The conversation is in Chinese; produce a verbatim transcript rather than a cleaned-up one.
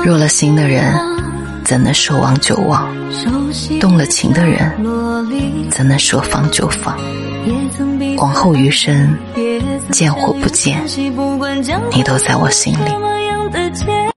若了心的人怎能说忘就忘，动了情的人怎能说放就放。往后余生，见或不见，你都在我心里。